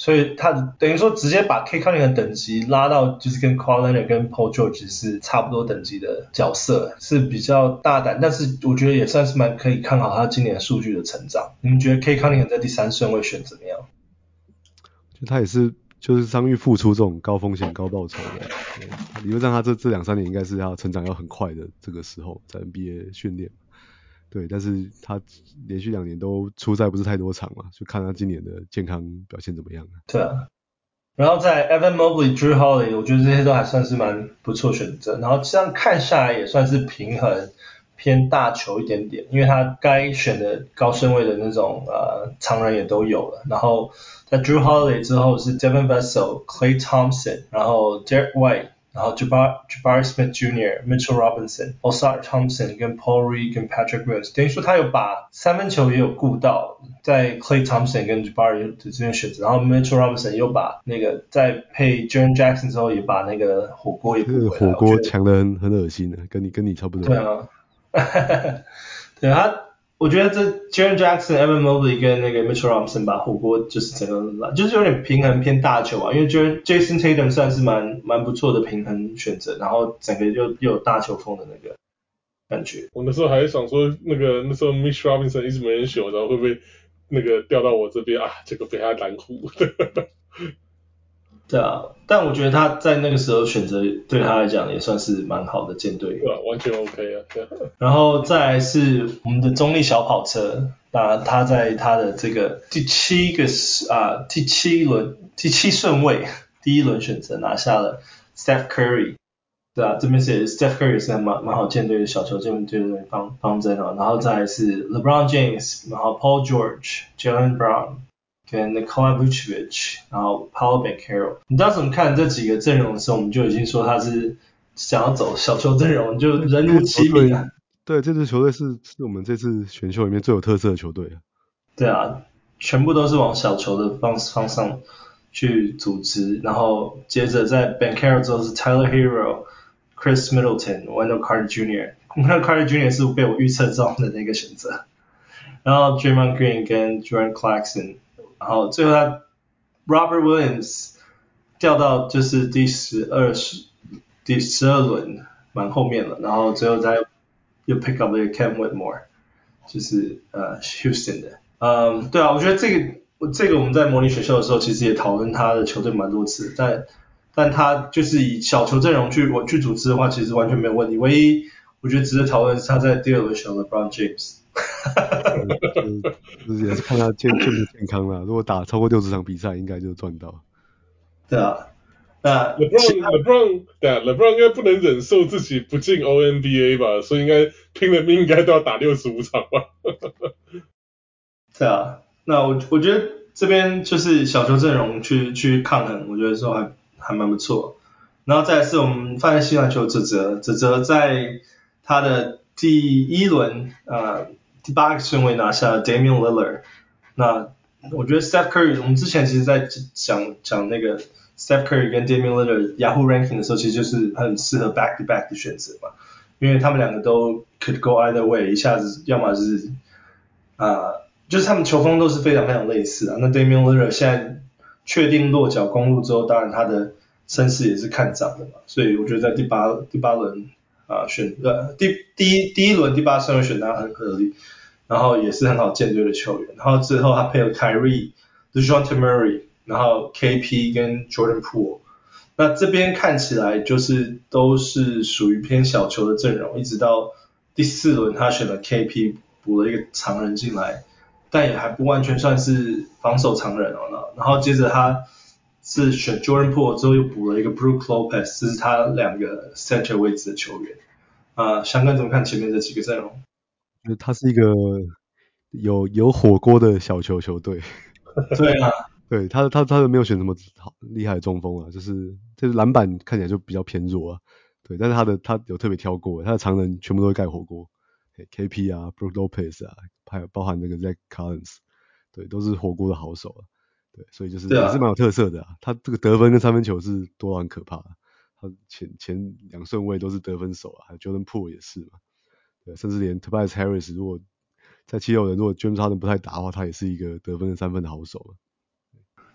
所以他等於說直接把 Cade Cunningham 等級拉到就是跟 Kawhi Leonard 跟 Paul George 是差不多等級的角色，是比較大膽，但是我覺得也算是蠻可以看好他今年數據的成長。你們覺得 Cade Cunningham 在第三順位選怎麼樣？ 就他也是就是傷癒復出這種高風險高報酬的，理論上他這這兩三年應該是要成長要很快的這個時候在 N B A 訓練。對，但是他連續兩年都出賽不是太多場嘛，就看他今年的健康表現怎麼樣。 對啊，然後在 Evan Mobley、Drew Holiday， 我覺得這些都還算是蠻不錯選擇。然後這樣看下來也算是平衡偏大球一點點，因為他該選的高順位的那種呃常人也都有了。然後在 Drew Holiday 之後是 Devin Vassell、Klay Thompson， 然後 Derek White。然後 Jabari, Jabari Smith Junior、Mitchell Robinson、Oscar Thompson 跟 Paul Reed 跟 Patrick Williams， 等於說他有把三分球也有顧到，在 Klay Thompson 跟 Jabari 的這邊選擇，然後 Mitchell Robinson 又把那個在配 Jaren Jackson 之後也把那個火鍋也補回來， 這個火鍋強得很很噁心的，跟你跟你差不多。 對啊，對他。我覺得這 Jaren Jackson、Evan Mobley 跟那個 Mitchell Robinson 把火鍋就是整個就是有點平衡偏大球啊，因為 Jason Tatum 算是蠻蠻不錯的平衡選擇，然後整個又又有大球風的那個感覺。 我那時候還想說，那個那時候 Mitchell Robinson 一直沒人選，然後會不會那個調到我這邊啊？結果被他攔胡。 對啊，但我覺得他在那個時候選擇對他來講也算是蠻好的艦隊。 對啊，完全 OK 啊。對啊， 然後再來是我們的中立小跑車，那他在他的這個第七個啊第七輪第七順位第一輪選擇拿下了 Steph Curry。對啊，這邊是 Steph Curry 是蠻蠻好艦隊的小球艦隊的方方針啊。然後再來是 LeBron James， 然後 Paul George、Jaylen Brown。跟 Nikola Vucevic， 然後 Paolo Banchero， 你當時我們看這幾個陣容的時候，我們就已經說他是想要走小球陣容，就人如其名啊。 對，這支球隊是是我們這次選秀裡面最有特色的球隊。 對啊，全部都是往小球的方方向去組織，然後接着在 Banchero 之後是 Tyler Hero、Chris Middleton、Wendell Carter Junior Wendell Carter Junior 是被我預測中的那個選擇，然後 Draymond Green 跟 Jordan Clarkson。然後最後他 Robert Williams 掉到就是第十二第十二輪蠻後面了，然後最後他又 pick up 了一個 Cam Whitmore， 就是呃 Houston 的。嗯，對啊，我覺得這個這個我們在模擬選秀的時候其實也討論他的球隊蠻多次，但但他就是以小球陣容去我去組織的話，其實完全沒有問題。唯一我覺得值得討論的是他在第二輪選了 LeBron James。 就是就是也是看他健健不健康啦。如果打超過六十場比賽，應該就賺到。 對啊，那 LeBron LeBron 對啊 ，LeBron 應該不能忍受自己不進 O N B A 吧，所以應該拼了命應該都要打六十五場吧。 對啊，那我我覺得這邊就是小球陣容去去抗衡，我覺得說還還蠻不錯。然後再來是我們放在西籃球澤澤，澤澤在他的第一輪呃。第八個順位拿下 Damian Lillard， 那我覺得 Steph Curry， 我們之前其實在講講那個 Steph Curry 跟 Damian Lillard Yahoo Ranking 的時候，其實就是很適合 back to back 的選擇嘛，因為他們兩個都 could go either way， 一下子要麼就是啊、呃，就是他們球風都是非常非常類似啊。那 Damian Lillard 現在確定落腳公鹿之後，當然他的聲勢也是看漲的嘛，所以我覺得在第八第八輪。啊，選呃第第一第一輪第八順位選他很合理，然後也是很好建隊的球員，然後最後他配了 Kyrie、DeJounte Murray， 然後 K P 跟 Jordan Poole， 那這邊看起來就是都是屬於偏小球的陣容，一直到第四輪他選了 K P 補了一個長人進來，但也還不完全算是防守長人哦，然後接着他是選 Jordan Poole 之後又補了一個 Brook Lopez， 這是他兩個 center 位置的球員。啊、呃，翔哥怎麼看前面這幾個陣容？ 他是一個有有火鍋的小球球隊。 對啊， 對他他他沒有選什麼好厲害的中鋒啊，就是就是籃板看起來就比較偏弱啊。對，但是他的他有特別挑過，他的長人全部都會蓋火鍋。K P 啊 ，Brook Lopez 啊，還有包含那個 Zach Collins， 對，都是火鍋的好手啊。對，所以就是也是蠻有特色的啊。他這個得分跟三分球是多到很可怕的。他前前兩順位都是得分手啊，還有 Jordan Poole 也是嘛。對，甚至連 Tobias Harris 如果在七六人，如果 James Harden 不太打的話，他也是一個得分跟三分的好手啊。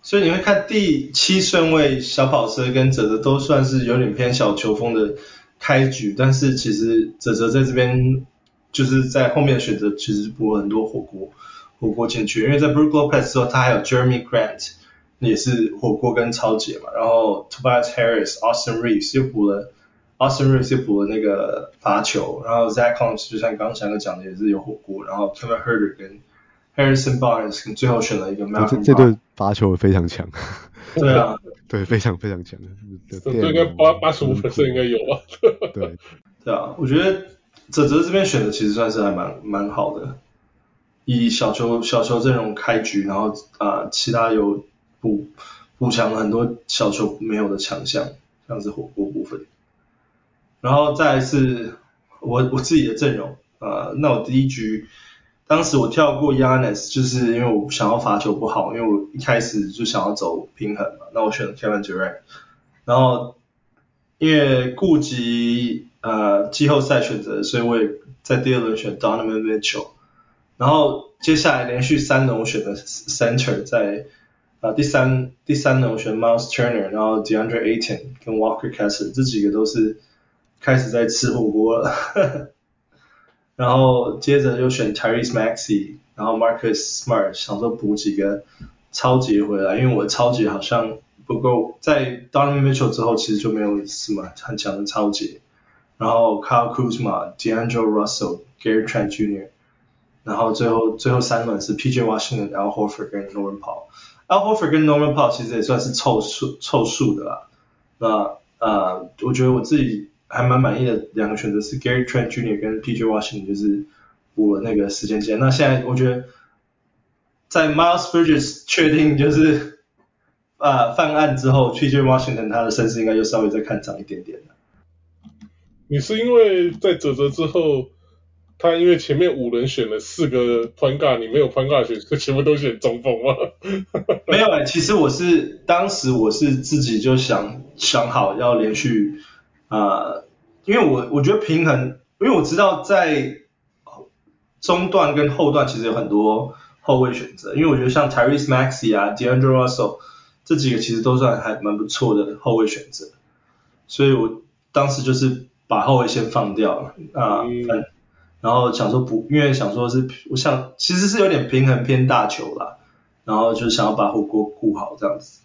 所以你會看第七順位小跑車跟澤澤都算是有點偏小球風的開局，但是其實澤澤在這邊就是在後面的選擇其實補了很多火鍋火鍋進去，因為在 Brook Lopez 之後他還有 Jeremy Grant 也是火鍋跟超級嘛，然後 Tobias Harris、Austin Reeves 又補了 Austin Reeves 又補了那個罰球，然後 Zach Collins 就像剛剛翔哥講的也是有火鍋，然後 Kevin Huerter 跟Harrison Barnes 最後選了一個 Malcolm 這對罰球非常強。 對啊， 對，非常非常強。 這應該八八十五%應該有啊。 对，对啊，我覺得澤澤這邊選的其實算是還蠻蠻好的，以小球小球陣容開局，然後啊、呃、其他有補補強了很多小球沒有的強項，像是火鍋部分。然後再來是我我自己的陣容，呃，那我第一局。當時我跳過 Giannis 就是因為我想要罰球不好，因為我一開始就想要走平衡嘛，那我選了 Kevin Durant， 然後因為顧及呃季後賽選擇，所以我也在第二輪選 Donovan Mitchell， 然後接下來連續三輪我選了 Center， 在呃第三第三輪我選 Miles Turner， 然後 DeAndre Ayton 跟 Walker Kessler 這幾個都是開始在吃火鍋了。呵呵然後接着又選 Tyrese Maxey， 然後 Marcus Smart， 想說補幾個超級回來，因為我的超級好像不夠，在 Donovan Mitchell 之後其實就沒有什麼很強的超級。然後 Kyle Kuzma、D'Angelo Russell、Gary Trent Junior， 然後最後最後三輪是 P J Washington、Al Horford 跟 Norman Powell。Al Horford 跟 Norman Powell 其實也算是湊數湊數的啦。那呃，我覺得我自己還蠻滿意的兩個選擇是 Gary Trent Junior 跟 P J Washington， 就是補了那個時間線。那現在我覺得在 Miles Bridges 確定就是呃犯案之後 ，P J Washington 他的身世應該就稍微再看漲一點點了。 你是因為在澤澤之後，他因為前面五輪選了四個 point guard， 你沒有 point guard 選，所以全部都選中鋒嗎？ 沒有哎、欸，其實我是當時我是自己就想想好要連續啊、呃，因為我我覺得平衡，因為我知道在中段跟後段其實有很多後衛選擇，因為我覺得像 Tyrese Maxey 啊 D'Angelo Russell 這幾個其實都算還蠻不錯的後衛選擇，所以我當時就是把後衛先放掉了啊、呃嗯，然後想說補，因為想說是我想其實是有點平衡偏大球啦，然後就想要把火鍋顧好這樣子。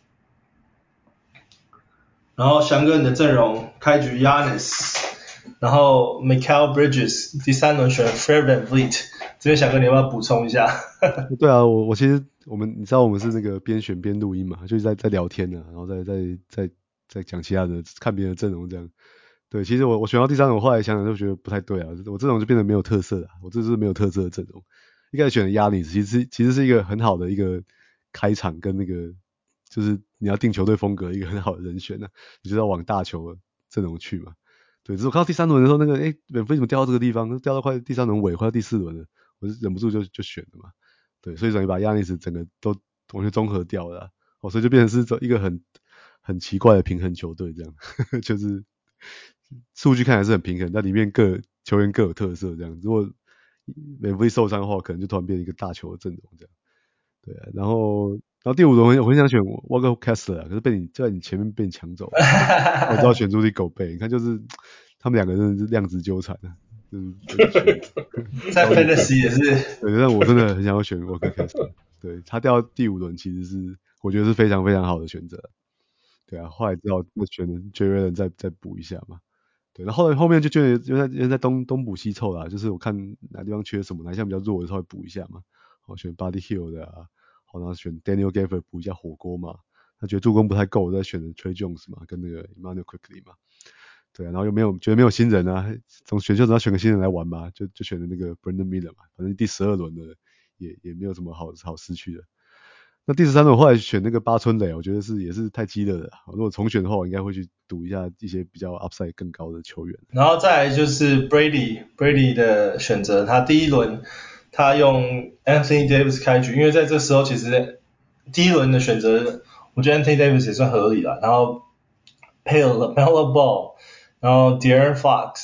然後翔哥你的陣容開局 Giannis， 然後 Mikal Bridges 第三輪選 Fred VanVleet， 這邊翔哥你要不要補充一下？ 對啊，我我其實我們你知道我們是那個邊選邊錄音嘛，就是在在聊天呢、啊，然後再再再再講其他的，看別人的陣容這樣。對，其實我我選到第三輪，我後來想想就覺得不太對啊，我陣容就變得沒有特色了，我這是沒有特色的陣容。一開始選的 Giannis 其實其實是一個很好的一個開場跟那個就是你要定球隊風格一個很好的人選啊，你就要往大球陣容去嘛。對，只是我看到第三輪的時候，那個誒，VanVleet怎麼掉到這個地方，掉到快第三輪尾，快到第四輪了，我就忍不住就就選了嘛。對，所以等於把 Giannis 整個都完全綜合掉了、啊，哦，所以就變成是一個很很奇怪的平衡球隊這樣，呵呵就是數據看起來是很平衡，但裡面各球員各有特色這樣。如果 VanVleet 受傷的話，可能就突然變成一個大球的陣容這樣。對啊，然後然後第五輪我很想選 Walker Kessler 啊，可是被你就在你前面被你搶走了，我知道選出去狗背，你看就是他們兩個真的是量子糾纏啊。就是在 Fantasy 也是， 對，但我真的很想要選 Walker Kessler， 對，他掉到第五輪其實是我覺得是非常非常好的選擇，對啊，後來只好就選 Jaren Allen 再再補一下嘛，對，然後後來後面就覺得因為因為在東東補西湊啦，就是我看哪地方缺什麼，哪項比較弱的時候會補一下嘛，我選 Buddy Hield 的啊，好，然後選 Daniel Gafford 補一下火鍋嘛，他覺得助攻不太夠，我再選了 Tre Jones 嘛，跟那個 Immanuel Quickley 嘛。對啊，然後又沒有覺得沒有新人啊，從選秀只要選個新人來玩嘛，就就選了那個 Brandon Miller 嘛，反正第十二輪的也也沒有什麼好好失去的。那第十三輪我後來選那個八村壘，我覺得是也是太激烈了。如果重選的話，我應該會去賭一下一些比較 upside 更高的球員。 然後再來就是 Brady Brady 的選擇，他第一輪他用 Anthony Davis 開局，因為在這時候其實第一輪的選擇，我覺得 Anthony Davis 也算合理了，然後配了 LaMelo Ball。然後 De'Aaron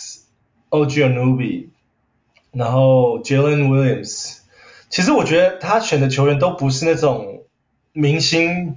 Fox、O G Anunoby， 然後 Jalen Williams， 其實我覺得他選的球員都不是那種明星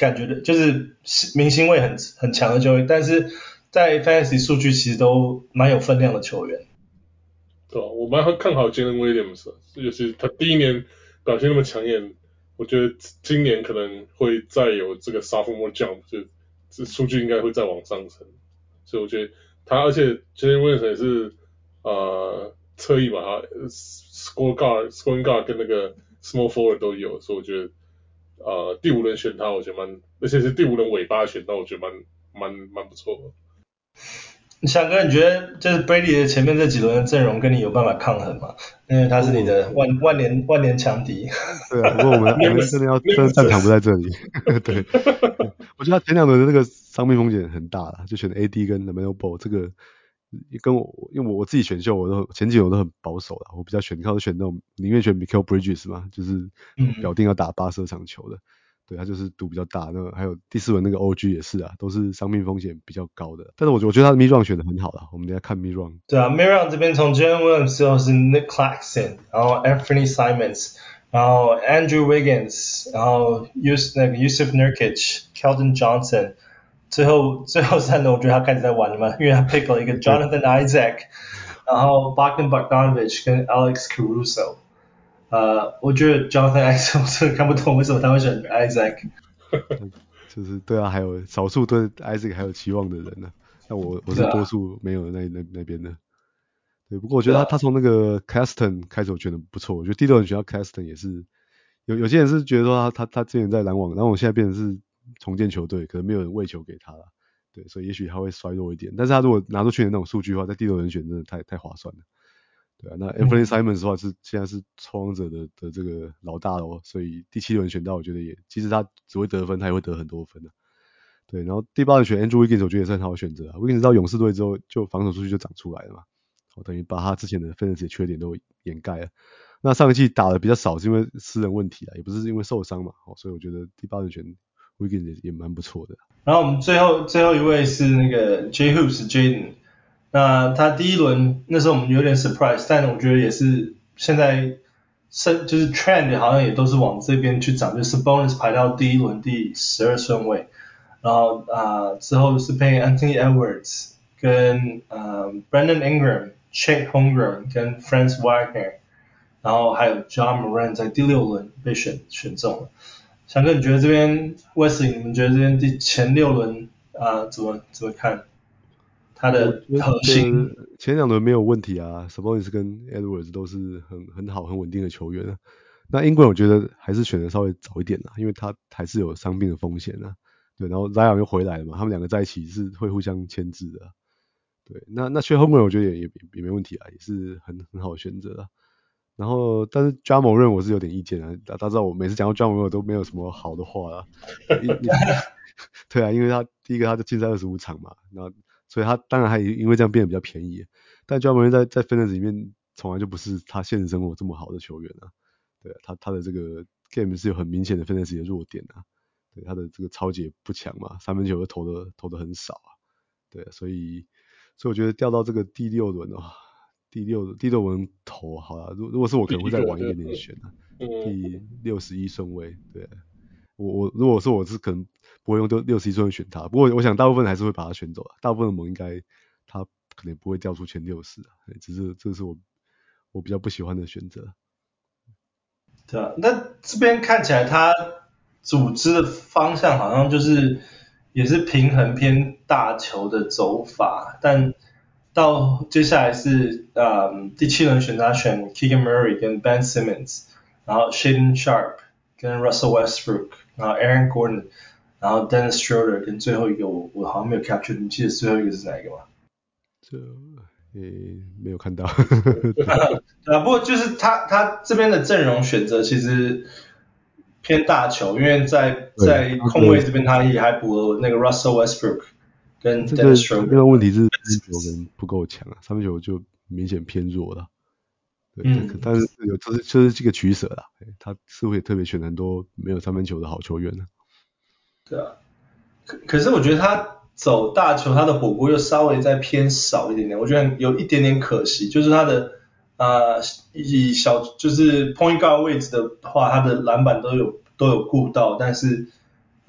感覺的，就是明星味很很強的球員，但是在 Fantasy 數據其實都蠻有分量的球員。 對啊，我蠻看好 Jalen Williams 的，尤其他第一年表現那麼搶眼，我覺得今年可能會再有這個 sophomore jump， 就這數據應該會再往上升。所以我覺得他，而且 Jalen Williams 也是呃側翼嘛，他 score guard、scoring guard 跟那個 small forward 都有，所以我覺得呃第五輪選他，我覺得蠻，而且是第五輪尾巴選到，我覺得蠻蠻蠻不錯的。 翔哥，你覺得就是 Brady 的前面這幾輪的陣容跟你有辦法抗衡嗎？因為他是你的萬萬年萬年強敵。 對啊，不過我們我們真的要真的戰場不在這裡。對，我覺得他前兩輪的那個傷病風險很大啦，就選 A D 跟 LaMelo Ball 這個跟我，因為我自己選秀我都前幾輪我都很保守啦，我比較選靠選那種寧願選 Mikal Bridges 嘛，就是表定要打八十二場球的。對，他就是賭比較大，那還有第四輪那個 O G 也是啊，都是傷病風險比較高的。但是我我覺得他的 mid round 選的很好啦，我們等一下看 mid round。 對啊 ，mid round 這邊從 Jalen Williams 之後是 Nick Claxton， 然後 Anthony Simons， 然後 Andrew Wiggins， 然後 Yus 那個 Yusuf Nurkic、Keldon Johnson， 最後最後三輪我覺得他開始在玩了嘛，因為他 pick 了一個 Jonathan Isaac， 然後 Bogdan Bogdanovic 跟 Alex Caruso。呃，我覺得 Jonathan Isaac 我真的看不懂為什麼他會選 Isaac。 就是對啊，還有少數對 Isaac 還有期望的人呢、啊。那我我是多數沒有的那那那邊的。對，不過我覺得他他從那個 Claxton 開始我覺得不錯，我覺得第六輪選到 Claxton 也是有有些人是覺得說他他他之前在籃網，籃網現在變成是重建球隊，可能沒有人餵球給他了。對，所以也許他會衰弱一點，但是他如果拿出去年那種數據的話，在第六輪選真的太太划算了。對啊，那 Anthony Simons 的話是現在是拓荒者的的這個老大咯，所以第七輪選到，我覺得也其實他只會得分，他也會得很多分的、啊。對，然後第八輪選 Andrew Wiggins， 我覺得也是很好的選擇啊。Wiggins 到勇士隊之後，就防守數據就長出來了嘛，我等於把他之前的 Fantasy 的缺點都掩蓋了。那上一季打的比較少，是因為私人問題啊，也不是因為受傷嘛，所以我覺得第八輪選 Wiggins 也也蠻不錯的。 然後我們最後最後一位是那個 J Hoops Jaden。那他第一輪那時候我們有點 surprise， 但我覺得也是現在就是 trend 好像也都是往這邊去漲，就是 Sabonis 排到第一輪第十二順位，然後啊、呃、之後是配 Anthony Edwards 跟呃 Brandon Ingram、Chet Holmgren 跟 Franz Wagner， 然後還有 John Moran 在第六輪被選選中了。翔哥，你覺得這邊 Wesley， 你們覺得這邊第前六輪啊、呃、怎麼怎麼看？他的核心前兩輪沒有問題啊 ，Sabonis 跟 Edwards 都是很很好很穩定的球員啊。那 Ingram 我覺得還是選的稍微早一點啦，因為他還是有傷病的風險啊。對，然後 Zion 又回來了嘛，他們兩個在一起是會互相牽制的、啊。對，那那 Chet Holmgren 我覺得也也也沒問題啊，也是很很好的選擇啊。然後但是 Ja Morant 我是有點意見啊，大家知道我每次講到 Ja Morant 都沒有什麼好的話啊。對啊，因為他第一個他就禁賽二十五場嘛，然後。所以他當然還因為這樣變得比較便宜，但 Ja Morant 在在 Fantasy 裡面從來就不是他現實生活這麼好的球員啊。對啊，他他的這個 game 是有很明顯的 Fantasy 的弱點啊。對，他的這個抄截不強嘛，三分球又投的投的很少啊。對啊，所以所以我覺得掉到這個第六輪啊，第六第六輪投好了，如如果是我可能會再晚一點點選啊，第六十一順位。對啊，我我如果說我是可能。不會用六十一順位選他，不過我想大部分還是會把他選走了。大部分的盟應該他可能也不會掉出前六十啊，只是這是我我比較不喜歡的選擇。 對啊，那這邊看起來他組織的方向好像就是也是平衡偏大球的走法，但到接下來是呃第七輪選他選 Keegan Murray 跟 Ben Simmons， 然後 Shaedon Sharpe 跟 Russell Westbrook， 然後 Aaron Gordon。然後 Dennis Schroeder 跟最後一個我我好像沒有 capture， 你記得最後一個是哪一個嗎？ 這誒沒有看到。 對啊，不過就是他他這邊的陣容選擇其實偏大球，因為在在控衛這邊他也還補了那個 Russell Westbrook 跟 Dennis Schroeder。 這個問題是三分球可能不夠強啊，三分球就明顯偏弱了。對，嗯、但是有就是就是這個取捨啦，他是會特別選很多沒有三分球的好球員呢。 對啊，可可是我覺得他走大球，他的火鍋又稍微再偏少一點點，我覺得有一點點可惜，就是他的呃以小就是 point guard 位置的話，他的籃板都有都有顧到，但是啊、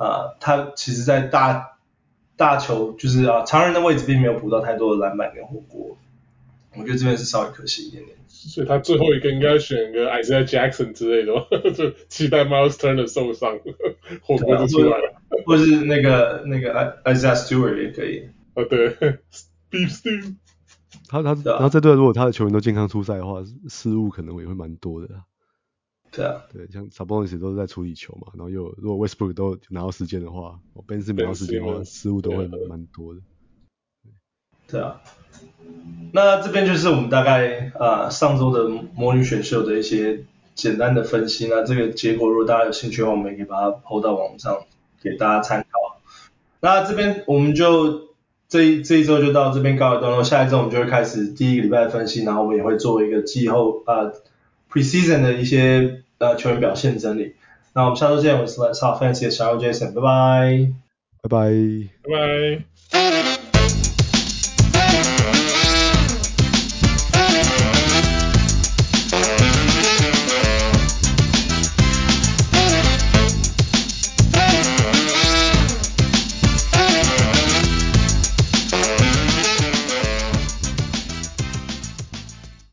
啊，他其實在大大球就是啊常人的位置並沒有補到太多的籃板跟火鍋，我覺得這邊是稍微可惜一點點。 所以他最後一個應該選個 Isaiah Jackson 之類的吧，就期待 Miles Turner 受傷，火鍋就出來了。 或是那個那個 Isaiah Stewart 也可以。 哦對 ，Beef Stew。 他他然後這隊如果他的球員都健康出賽的話，失誤可能也會蠻多的。 對啊， 對，像 Sabonis 都是在處理球嘛，然後又如果 Westbrook 都拿到時間的話 ，Ben Simmons 拿到時間的話，失誤都會蠻多的。 對啊，那這邊就是我們大概啊、呃、上周的魔女選秀的一些簡單的分析。那這個結果如果大家有興趣的話，我們也可以把它 po 到網上給大家參考。那這邊我們就這一這一周就到這邊告一段落，下一周我們就會開始第一個禮拜的分析，然後我們也會做一個季後啊、呃、preseason 的一些呃球員表現整理。那我們下周見，我是 Let's Talk Fantasy 的小人物 Jason， 拜拜， 拜拜， 拜拜。